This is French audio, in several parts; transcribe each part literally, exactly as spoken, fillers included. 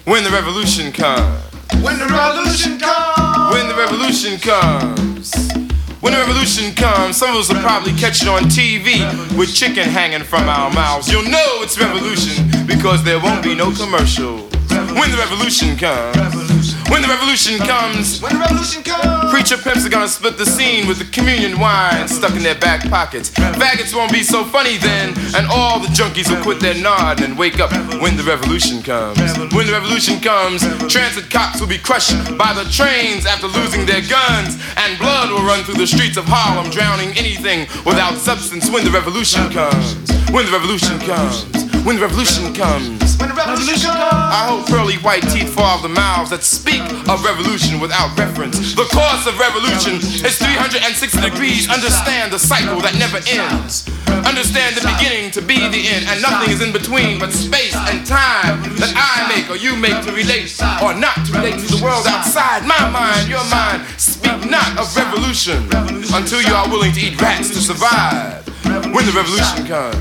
When the revolution comes. When the revolution comes. When the revolution comes. When the revolution comes, some of us will probably catch it on T V with chicken hanging from our mouths. You'll know it's revolution because there won't be no commercial. When the revolution comes. When the revolution comes. When the revolution comes. Preacher pimps are gonna split the scene with the communion wine stuck in their back pockets. Faggots won't be so funny then, and all the junkies will quit their nod and wake up when the revolution comes. When the revolution comes, transit cops will be crushed by the trains after losing their guns, and blood will run through the streets of Harlem, drowning anything without substance. When the revolution comes. When the revolution comes. When the revolution comes. When the revolution comes. I hope pearly white teeth fall off the mouths that speak of revolution without reference. The course of revolution is three hundred sixty degrees. Understand the cycle that never ends. Understand the beginning to be the end, and nothing is in between but space and time that I make or you make to relate or not to relate to the world outside. My mind, your mind, speak not of revolution until you are willing to eat rats to survive. When the revolution comes.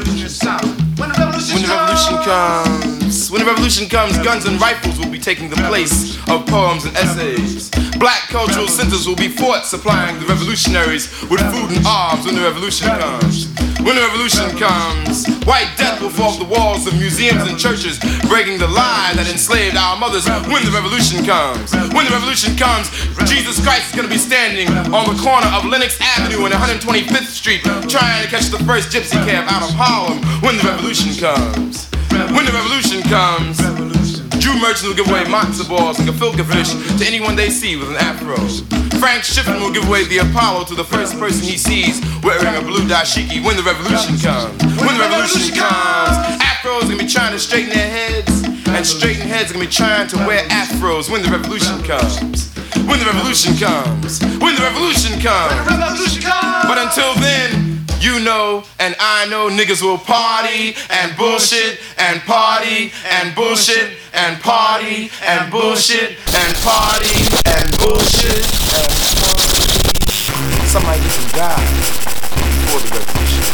When the revolution, when the revolution comes, when the revolution comes, guns and rifles will be taking the place of poems and essays. Black cultural centers will be fought, supplying the revolutionaries with food and arms. When the revolution comes, when the revolution comes, white death will fall off the walls of museums and churches, breaking the lie that enslaved our mothers. When the revolution comes, when the revolution comes, Jesus Christ is going to be standing on the corner of Lenox Avenue and one hundred twenty-fifth Street, trying to catch the first gypsy cab out of Harlem. When the revolution comes, when the revolution comes, Jew merchants will give away matzo balls and gefilte fish to anyone they see with an afro. Frank Shippen will give away the Apollo to the first person he sees wearing a blue dashiki. When the revolution comes, when the revolution comes, afros are gonna be trying to straighten their heads, and straighten heads are gonna be trying to wear afros. When the revolution comes, when the revolution comes, when the revolution comes, when the revolution comes. But until then, you know and I know niggas will party and bullshit and party and bullshit and party and bullshit and party and bullshit and party. Somebody get some die before the revolution.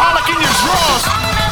Pollock in your drawers.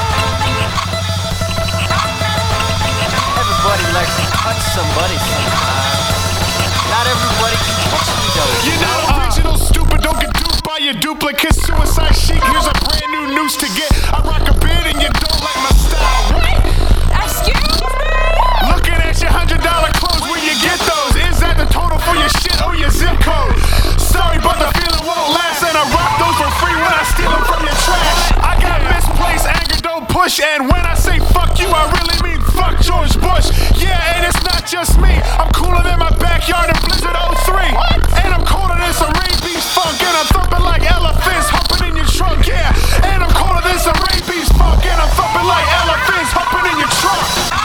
Everybody likes to touch somebody sometime. Not everybody can touch me though. You're not original, stupid. Don't get duped by your duplicate. Suicide chic. Here's a brand new noose to get. I rock a beard and you don't like my style. What? Excuse me? Looking at your hundred dollar clothes, where you get those? Is that the total for your shit or your zip code? Sorry, but the feeling won't last, and I rock those for free when I steal them from your trash. I got misplaced anger, don't push, and when I say fuck you, I really mean fuck George Bush. Yeah, and it's not just me. I'm cooler than my backyard in Blizzard oh three. And I'm colder than some rabies funk, and I'm thumping like elephants humping in your trunk. Yeah, and I'm colder than some rabies funk, and I'm thumping like elephants humping in your trunk.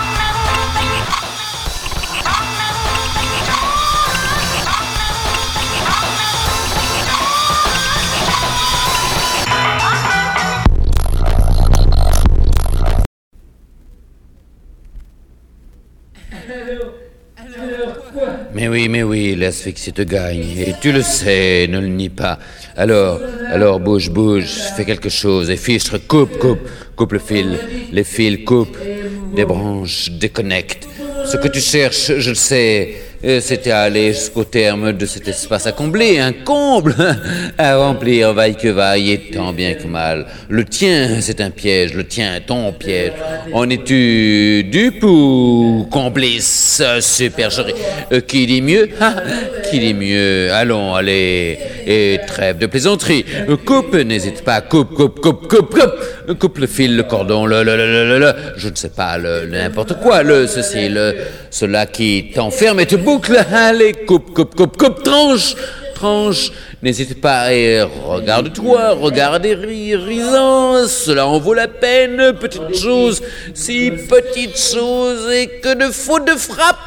Mais oui, mais oui, l'asphyxie te gagne, et tu le sais, ne le nie pas. Alors, alors bouge, bouge, fais quelque chose, et fichtre, coupe, coupe, coupe le fil, les fils, coupe, des branches, déconnecte. Ce que tu cherches, je le sais, c'était à aller jusqu'au terme de cet espace à combler, un comble, à remplir, vaille que vaille, et tant bien que mal. Le tien, c'est un piège, le tien, ton piège. En es-tu dupe ou complice, supercherie? euh, Qui dit mieux? Ah, qui dit mieux? Allons, allez, et trêve de plaisanterie. Coupe, n'hésite pas, coupe, coupe, coupe, coupe, coupe. Coupe le fil, le cordon, le, le, le, le, le, le je ne sais pas, le, le n'importe quoi, le, ceci, le, cela qui t'enferme et te boucle. Allez, coupe, coupe, coupe, coupe, tranche, tranche. N'hésite pas et regarde-toi, regarde et ris, risant, cela en vaut la peine, petite chose, si petite chose et que de faute de frappe.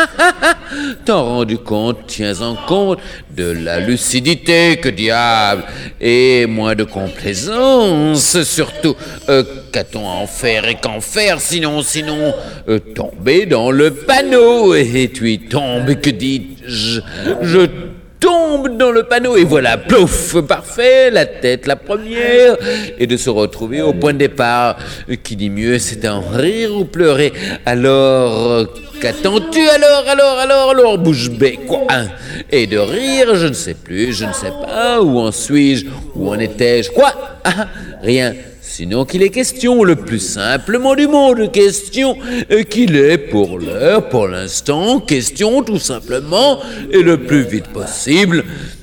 T'en rendu compte, tiens-en compte de la lucidité, que diable, et moins de complaisance, surtout, euh, qu'a-t-on à en faire et qu'en faire, sinon, sinon, euh, tomber dans le panneau, et tu y tombes, que dis-je, je tombe dans le panneau, et voilà, plouf, parfait, la tête la première, et de se retrouver au point de départ. Qui dit mieux, c'est en rire ou pleurer. Alors, qu'attends-tu alors, alors, alors, alors, bouche bée, quoi, hein? Et de rire, je ne sais plus, je ne sais pas, où en suis-je, où en étais-je, quoi, ah, rien. Sinon qu'il est question, le plus simplement du monde, question euh, qu'il est pour l'heure, pour l'instant, question tout simplement, et le plus vite possible,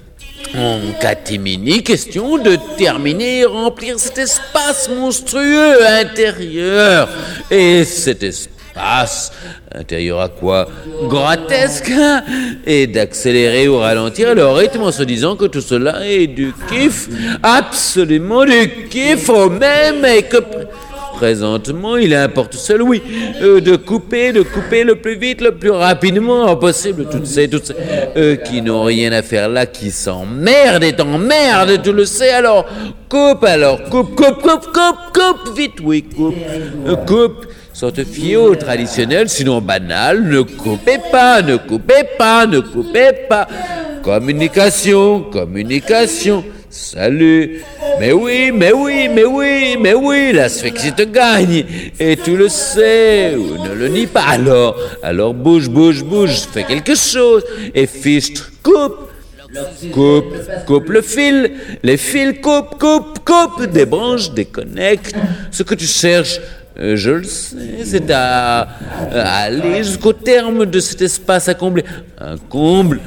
en catimini, question de terminer et remplir cet espace monstrueux intérieur. Et cet espace intérieur à quoi? Grotesque, et d'accélérer ou ralentir le rythme en se disant que tout cela est du kiff, absolument du kiff au même, et que pr- présentement il importe seul, oui, euh, de couper, de couper le plus vite, le plus rapidement possible toutes ces, toutes ces euh, qui n'ont rien à faire là, qui s'emmerdent et t'emmerdent, tu le sais, alors coupe, alors coupe, coupe, coupe, coupe, coupe, vite, oui, coupe, euh, coupe. Sans te fier au traditionnel, sinon banal, ne coupez pas, ne coupez pas, ne coupez pas. Communication, communication, salut. Mais oui, mais oui, mais oui, mais oui, l'asphyxie te gagne. Et tu le sais, ou ne le nie pas. Alors, alors bouge, bouge, bouge, fais quelque chose. Et fichtre, coupe. Coupe, coupe le fil, les fils, coupe, coupe, coupe, des branches, déconnecte. Ce que tu cherches, Euh, je le sais, c'est à, à aller jusqu'au terme de cet espace à combler. Un comble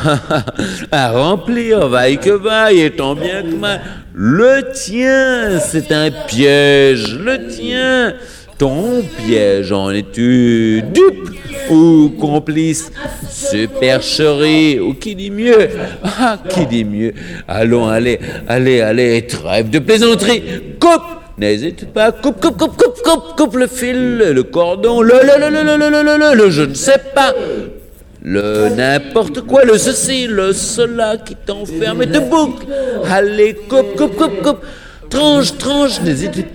à remplir, vaille que vaille, et tant bien que mal. Le tien, c'est un piège, le tien. Ton piège, en es-tu dupe ou complice? Supercherie, ou qui dit mieux? Ah, qui dit mieux? Allons, allez, allez, allez, trêve de plaisanterie, coupe! N'hésite pas, coupe, coupe, coupe, coupe, coupe, coupe le fil, le cordon, le, le, le, le, le, le, le, le, le, je ne sais pas, le n'importe quoi, le ceci, le cela qui t'enferme et te boucle. Allez, coupe, coupe, coupe, coupe, tranche, tranche, n'hésite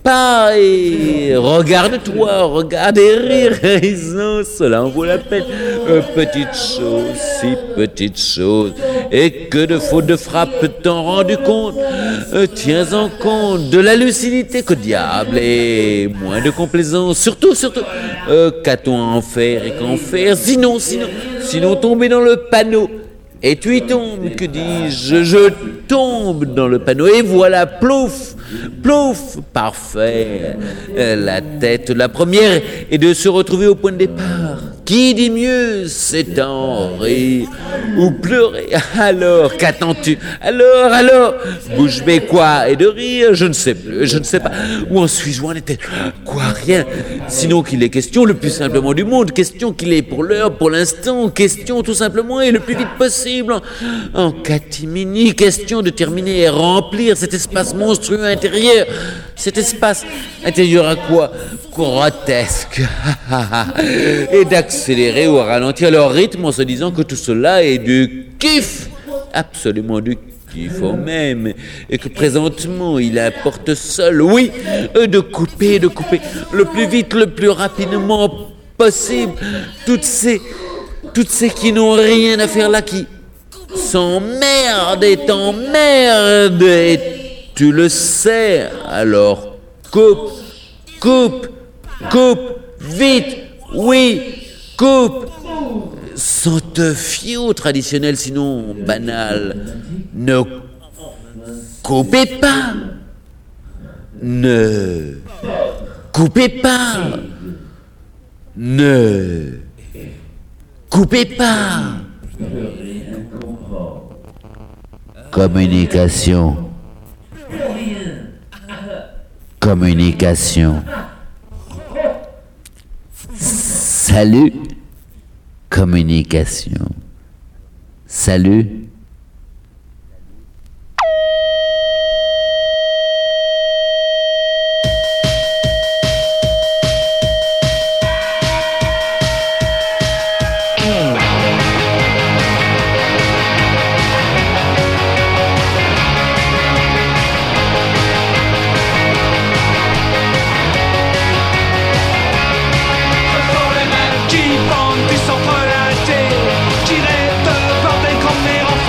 pas et regarde-toi, regarde et rire, raison, cela en vaut la peine. Euh, petite chose, si petite chose, et que de fautes de frappe t'en rendu compte. Euh, tiens en compte de la lucidité que diable et moins de complaisance. Surtout, surtout, euh, qu'a-t-on à en faire et qu'en faire? Sinon, sinon, sinon tomber dans le panneau. Et tu y tombes, que dis-je? Je tombe dans le panneau, et voilà, plouf, plouf, parfait. Euh, La tête, la première, est de se retrouver au point de départ. Qui dit mieux? C'est en rire ou pleurer. Alors, qu'attends-tu? Alors, alors, bouche bée quoi? Et de rire? Je ne sais plus, je ne sais pas. Où en suis-je? Où en était? Quoi? Rien. Sinon qu'il est question le plus simplement du monde, question qu'il est pour l'heure, pour l'instant, question tout simplement et le plus vite possible, en, en catimini, question de terminer et remplir cet espace monstrueux intérieur. Cet espace intérieur à quoi? Grotesque. Et d'accélérer ou à ralentir leur rythme en se disant que tout cela est du kiff, absolument du kiff au même, et que présentement il apporte seul, oui, de couper, de couper le plus vite, le plus rapidement possible toutes ces, toutes ces qui n'ont rien à faire là, qui s'emmerdent et t'emmerdent, et tu le sais, alors coupe, coupe, coupe, vite, oui, coupe, sans te fier au traditionnel, sinon banal. Ne coupez pas, ne coupez pas, ne coupez pas. Communication, communication. Salut, communication. Salut. Qui bande du centre laté, qui rêve de bordel comme les enfants.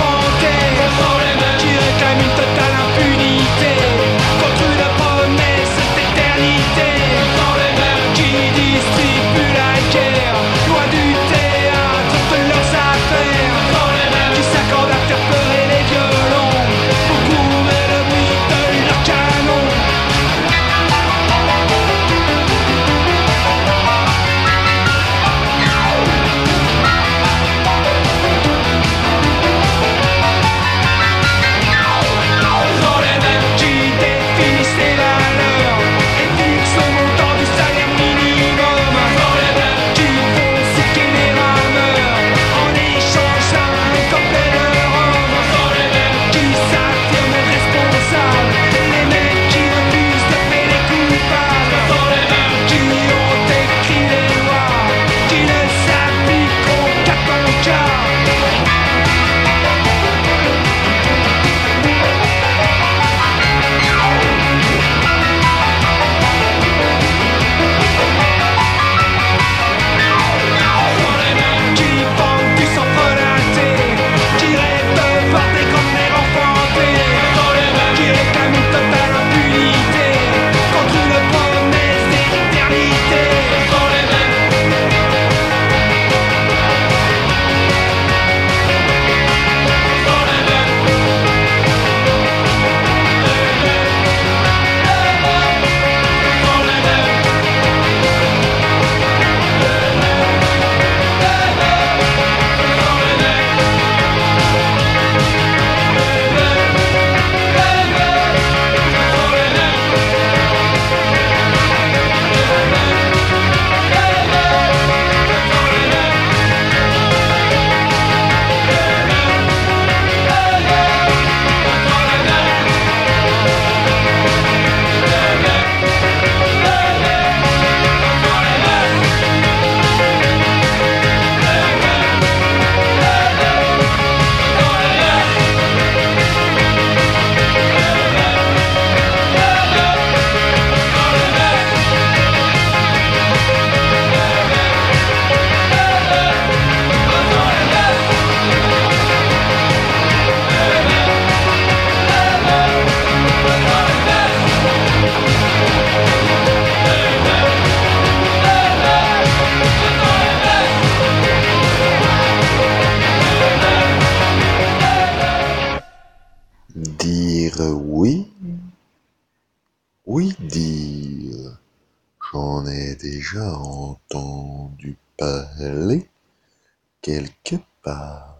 envie de dire, j'en ai déjà entendu parler quelque part.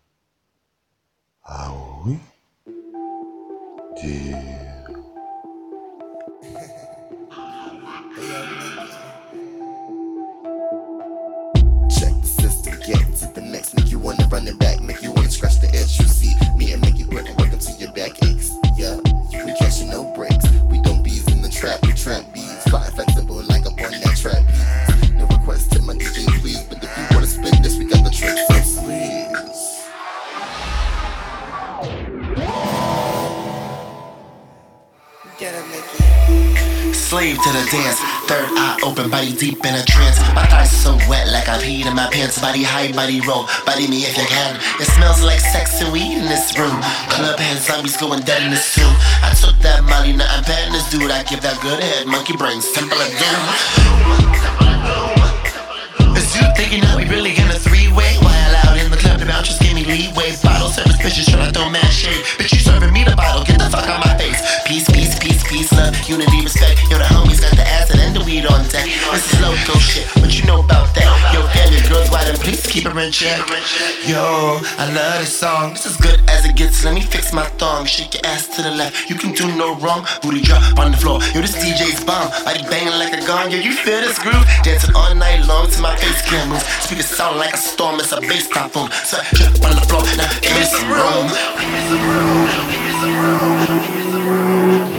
Ah oui? Dire. Check the system, get to the next, make you wanna run it back, make you wanna scratch the edge. You see me and make it work, work until your back aches. Yeah, we catching no breaks. We don't bees in the trap, we trap bees. Fly flexible like up on that trap bees. No request to my D J, please, but if you wanna spin this, we got the tricks on sleeves. Slave to the dance, third eye open, body deep in a trance. My thighs so wet like I've peed in my pants. Body high, body roll, body me if you can. It smells like sex and weed in this room. Club head zombies going dead in this tomb. I took that Molly, now I'm patting this dude. I give that good head, monkey brains, temple of doom. Is you thinking that we really in a three-way? While out in the club, the bouncers give me leeway. Bottle service bitches tryna throw mad shade. Bitch, you serving me the bottle, get the fuck out my face. Peace, peace, peace, peace, love, unity, respect. Yo, the homies got the acid and the weed on deck. This is loco shit, what you know about that? Yo, family girls, why them please keep it in check. Yo, I love this song, this is good as it gets. Let me fix my thong, shake your ass to the left. You can do no wrong, booty drop on the floor. Yo, this D J's bomb, body banging like a gong. Yo, you feel this groove? Dancing all night long till my face can't move. Speakers sound like a storm, it's a bass typhoon. So drip on the floor, now give me some room. Give me some room, give me some room, give me some room.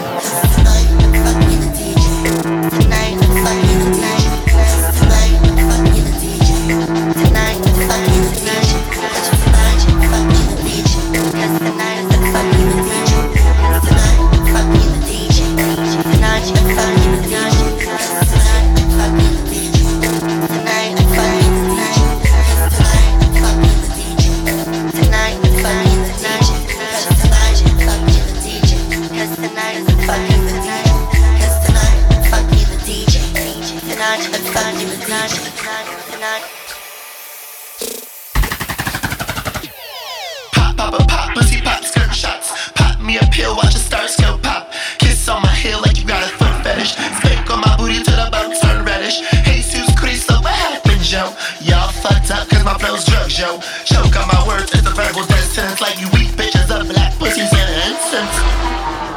Pop, pop, a pop, pussy pop, skirt shots. Pop me a pill, watch the stars go pop. Kiss on my heel like you got a foot fetish. Spank on my booty till the bone turn reddish. Jesus Cristo, what happened, Joe? Y'all fucked up cause my flow's drugs, yo. Choke on my words, it's a verbal death sentence. Like you weak bitches up, black pussies and an incense.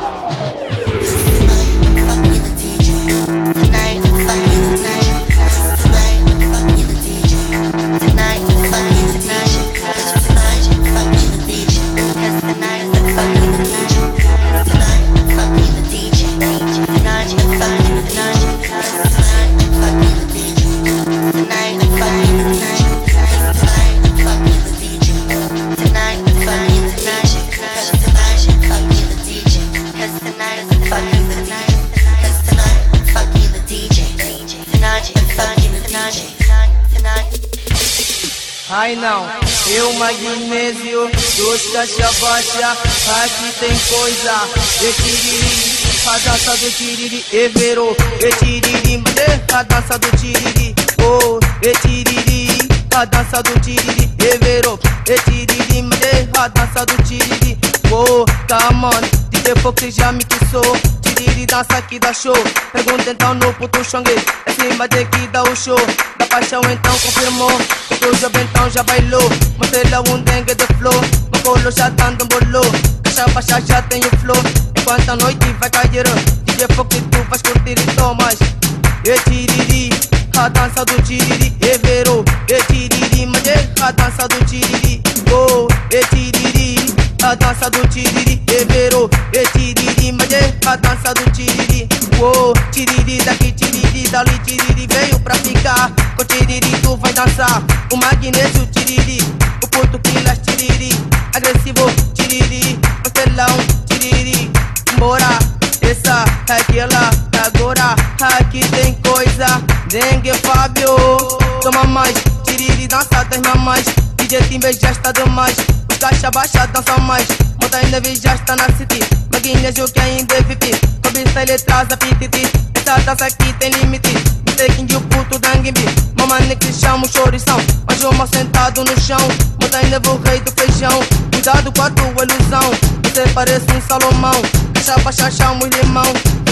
Ai não, eu magnésio, dois caixa baixa, aqui tem coisa. E tiriri, a dança do tiriri, everou. E tiriri, mande, a dança do tiriri. Oh, e tiriri, a dança do tiriri, everou. E tiriri, mande, a dança do tiriri. Oh, come on, D J Fox já me quissou. Tiriri, dança aqui dá show. Pergunta então no puto xangue, é cima de que dá o show. Da paixão então confirmou. O jovem então já bailou, mostrei-lhe um dengue de flow. No colo já dando um bolô, caixa baixa já tem o flow. Enquanto a noite vai cair, D J Fox tu vais curtir e tomas. E tiriri, a dança do tiriri, everou. E tiriri, mas a dança do tiriri. Oh, e tiriri, a dança do tiriri, everou. E tiriri, mas a dança do tiriri. Oh, tiriri daqui, tiriri dali, tiriri veio pra ficar. Com tiriri tu vai dançar. O magnésio tiriri, o puto pilas tiriri. Agressivo tiriri, pastelão tiriri. Bora, essa é aquela agora. Aqui tem coisa, dengue Fábio. Toma mais, tiriri dança das mamães. D J Timber já está demais. Os caixa baixa dançam mais. Monta neve já está na city. Magnésio que ainda é V I P. Cobiça ele traz a pititi. Essa dança aqui tem limite. Taking o puto dangue-me. Mamãe que chama o chorição. Mas o mal sentado no chão. Monta neve o rei do feijão. Cuidado com a tua ilusão. Você parece um Salomão. Caixa baixa chama o limão.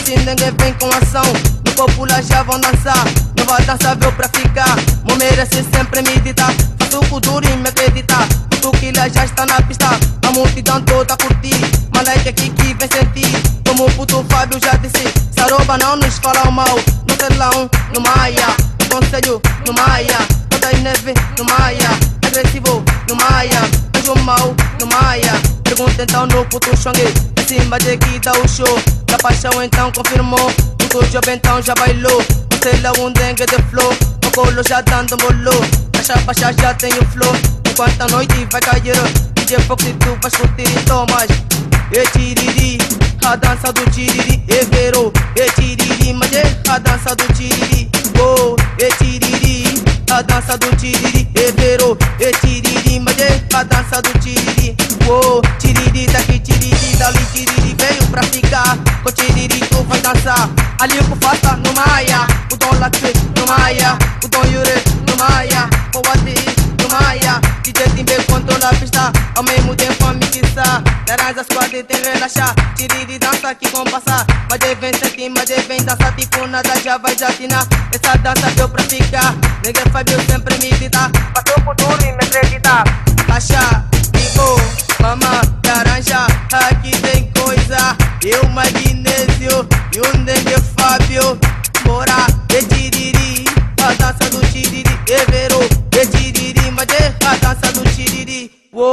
assim ninguém vem com ação. No popular já vão dançar, nova dança veio pra ficar. Mo merece sempre meditar, faço o duro e me acreditar. Tu que lá já está na pista, a multidão toda a curtir. Malaika aqui que vem sentir, como o puto Fábio já disse. Saroba não nos fala mal, no telão, no Maia. Conselho, no Maia. Toda neve, no Maia. Agressivo, no Maia. Anjo mal, no Maia. Pergunta então no puto Xangue, em cima de que dá o show. Da paixão então confirmou, puto job então já bailou. Você lá um dengue de flow, o colo já dando bolô. A chapa já tem o flow, enquanto a noite vai cair. D J Fox e tu vais curtir e tomas. E tiriri, a dança do tiriri, e verou. E tiriri, mas é a dança do tiriri. Oh, e tiriri, a dança do tiriri, e verou. E tiriri, mas é a dança do tiriri. Oh, tiriri daqui, tiriri dali, tiriri veio pra ficar. Com tiriri tu vai dançar. Ali o que faça no Maia, o Dom Latre no Maia, o Dom Yure no Maia, o Wadi no Maia. D J Timbe controla a pista, ao mesmo tempo a mixar. Laranja squad tem relaxar, tiriri dança aqui com passar. Mas vem sentir, mas vem dançar, tipo nada já vai jatinar. Essa dança deu pra ficar, ninguém Fábio sempre me dita. Passou por duro e me acredita. Achar, ligou, mamã, laranja, aqui tem coisa. Eu, magnésio, e um dengue Fábio. Bora, e tiriri, a dança do tiriri, e verou. E tiriri, mas é a dança do tiriri.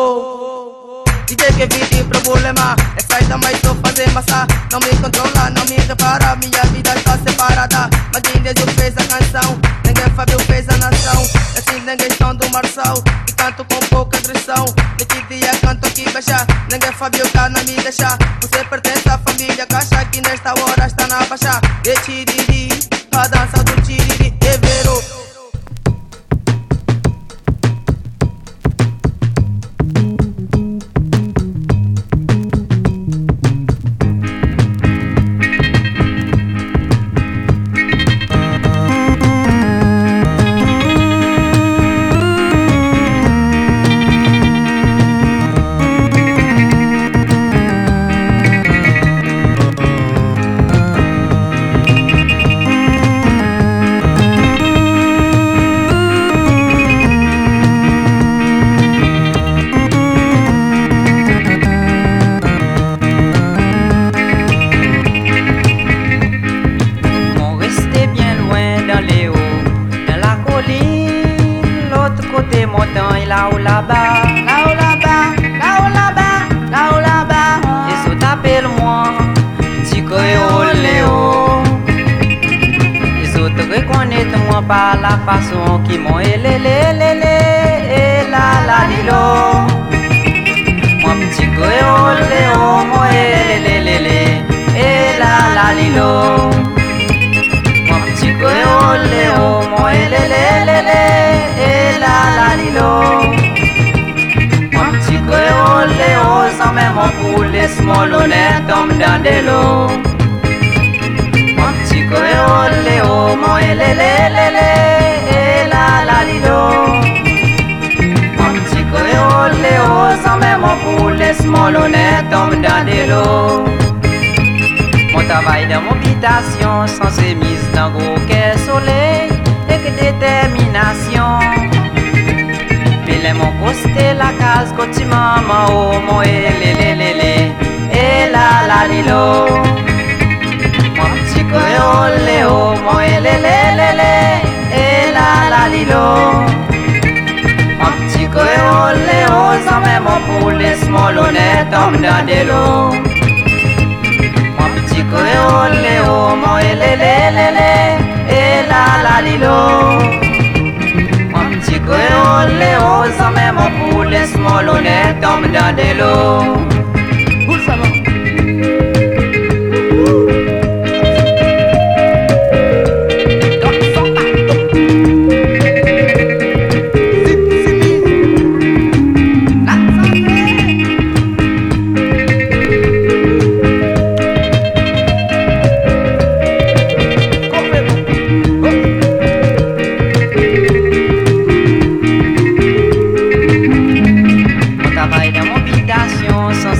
Uou, D J que vi tem problema, é saída mas tô fazer massa. Não me controla, não me repara, minha vida está separada. Magnésio fez a canção, ninguém Fábio fez a nação. Assim ninguém estão do Marçal, e canto com pouca agressão. Neste dia canto aqui baixa, ninguém Fábio cá não me deixa. Você pertence à família caixa, que nesta hora está na baixa. E tiriri, a dança do tiriri, e verou. Là-haut là-bas, là-haut là-bas, là-haut là-bas, là-haut là-bas. Et so t'appelle-moi, petit créole Léo. Et so te reconnaître moi par la façon qui m'ont élé, lé, lé, lé, et la la lilo. Moi petit créole Léo, moi élé, lé, lé, lé, et la la lilo. Moi petit créole Léo, moi élé, lé, lé, lé, et la la lilo. Mon petit créole Léo, sans même mon poulet small honnête, tombe dans de l'eau. Mon petit créole Léo, mon élé, lé, lé, lé, et la la lilo. Mon petit créole Léo, sans même mon poulet small honnête, tombe dans de l'eau. Mon travail dans mon habitation, sans ses mises dans gros quai soleil, et que détermination. Pile mon costé la case côté maman oh mon élé lé lé lé et la la lilo. Mon petit créole Léo mon élé lé lé lé et la la lilo. Mon petit créole Léo sans même mon poulet small honnête tombe dans de l'eau. Mon petit créole Léo mon élé lé lé lé et la la lilo. Mon petit créole Léo, sans même mon poulet small honnête tombe dans de l'eau. Où ça va? Sans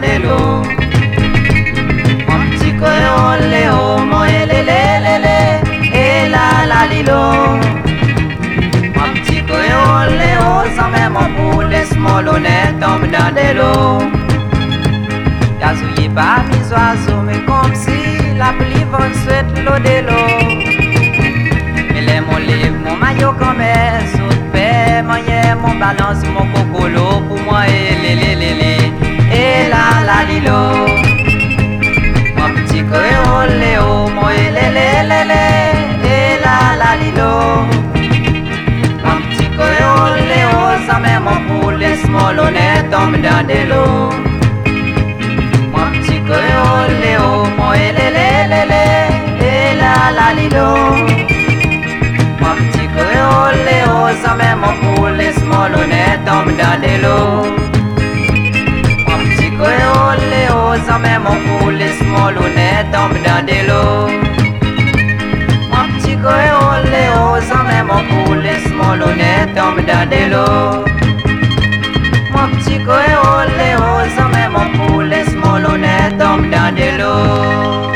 de l'eau. Mon petit créole, léo, mon élélélélé, et la la lilo. Mon petit créole, léo, sans même un poulet smolonnet tombe dans de l'eau. Gazouillé par mes oiseaux, mais comme si la pluie va souhaite l'eau de l'eau. Mais les mon livre, mon maillot comme est, sous paix, mon yé, mon balance, mon cocolo, pour moi, et lé lé lé lé, et la la lilo. Mon petit créole, léo, mon et lé lé lé lé, et la la lilo. Mon petit créole, léo, sans même mon poulet smolonnet tombe dans de l'eau. Créole, léo, mon élélélélé, et la la lilo. Mon petit créole, léo, sans même mon poulet smolonnet tombe dans de l'eau. Mon petit créole, léo, sans même mon poulet smolonnet tombe dans de l'eau. Mon petit créole, léo, sans même mon poulet smolonnet tombe dans de l'eau. Mon petit créole, léo, sans même mon poulet smolonnet tombe dans de l'eau.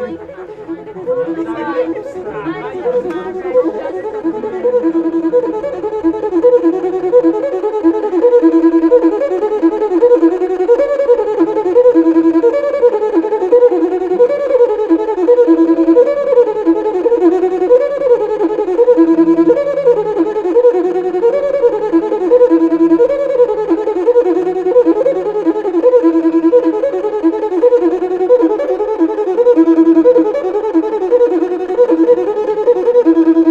Thank you.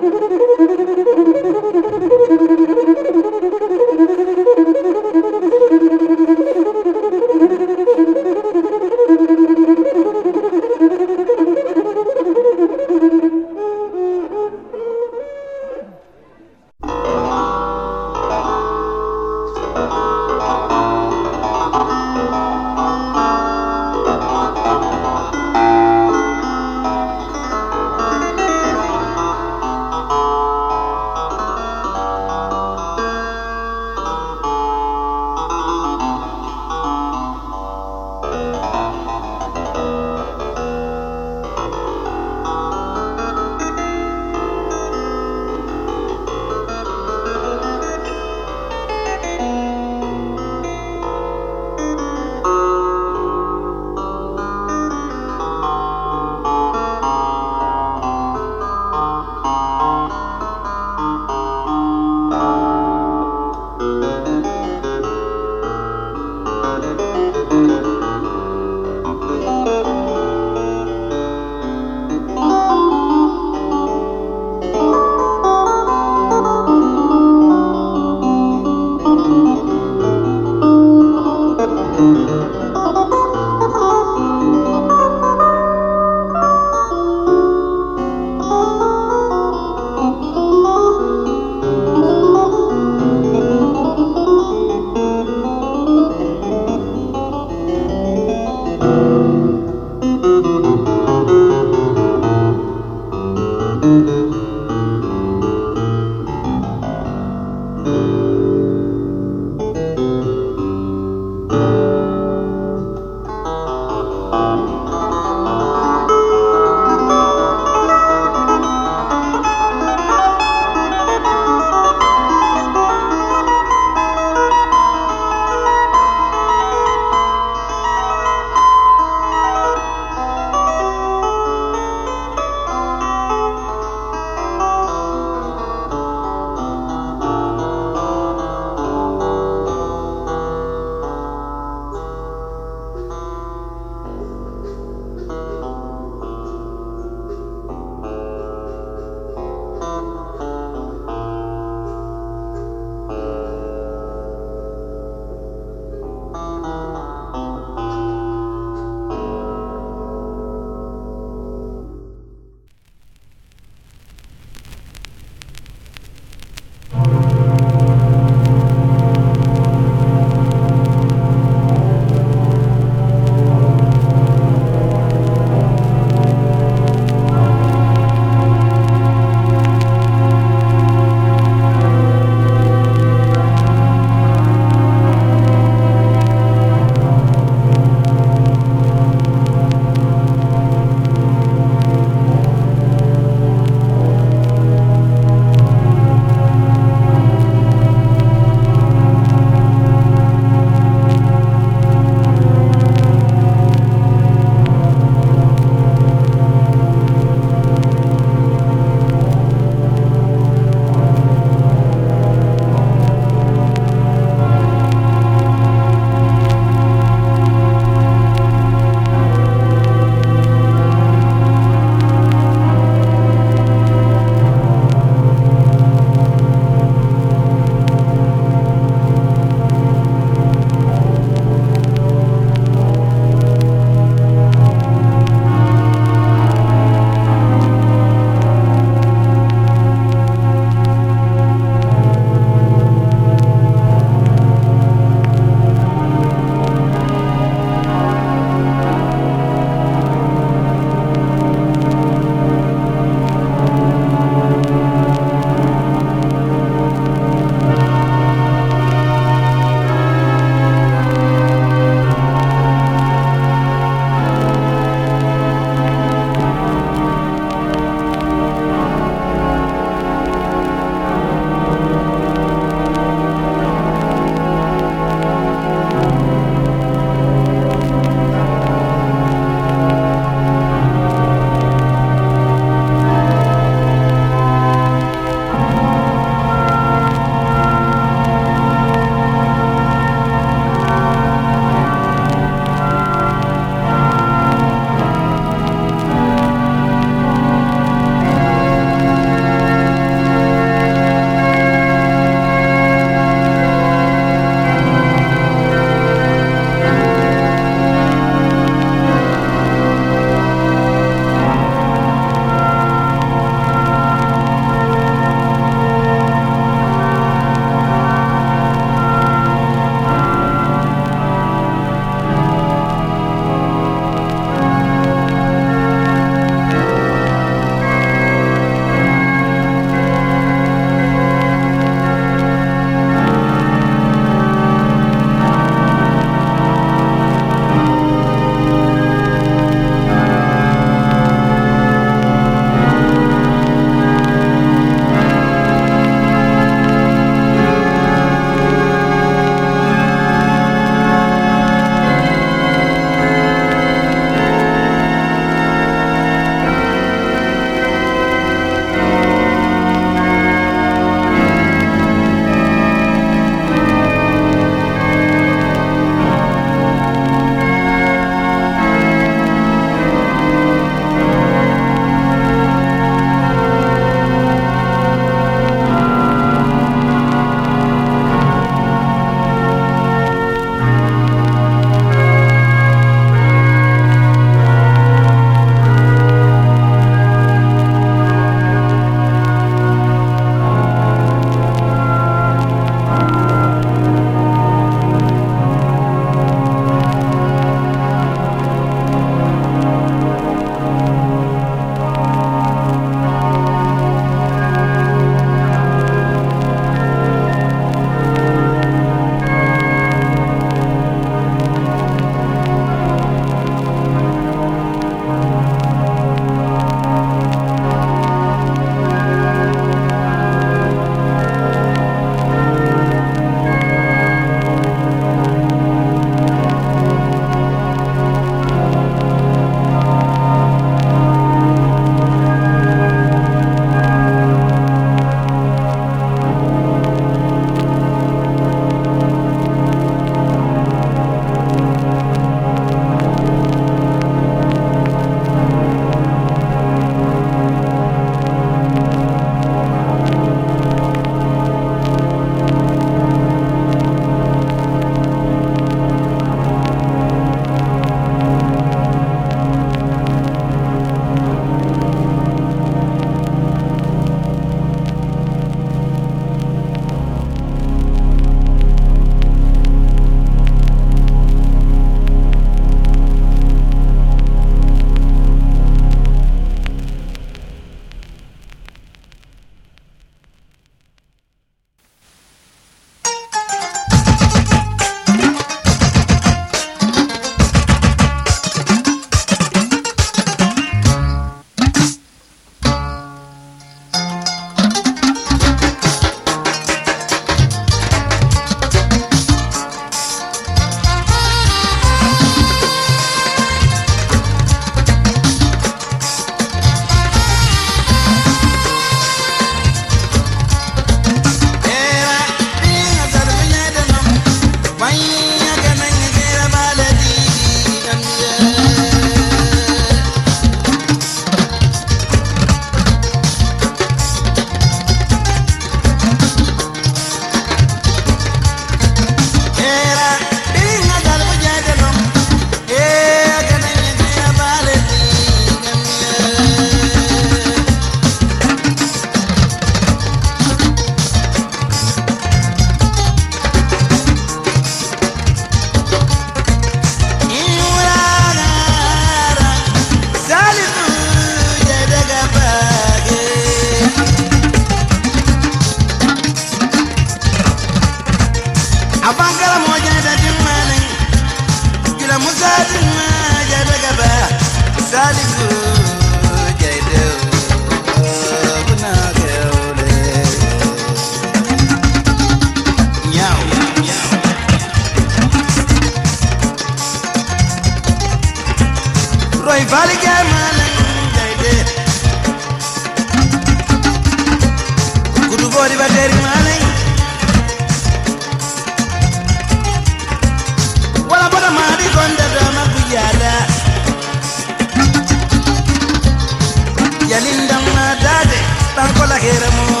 yalinda madade bankola heramo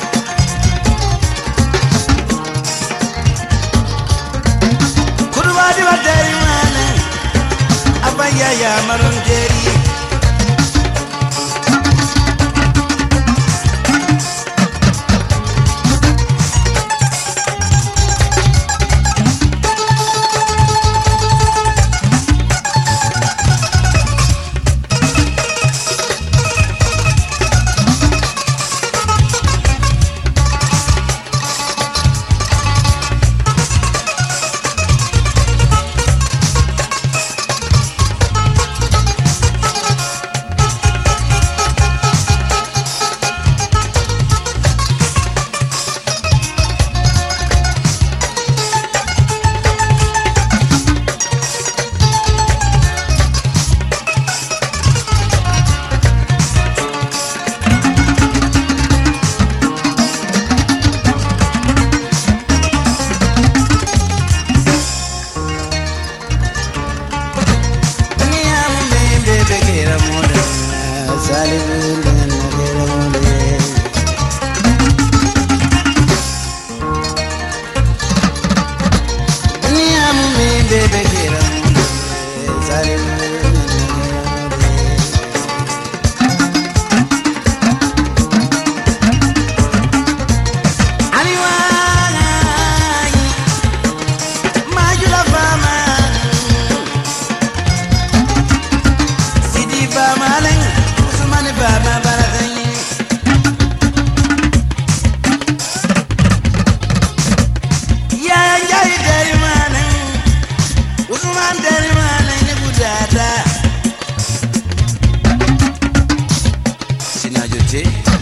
kurwadi wadari mana abaya ya marungeri Sinajote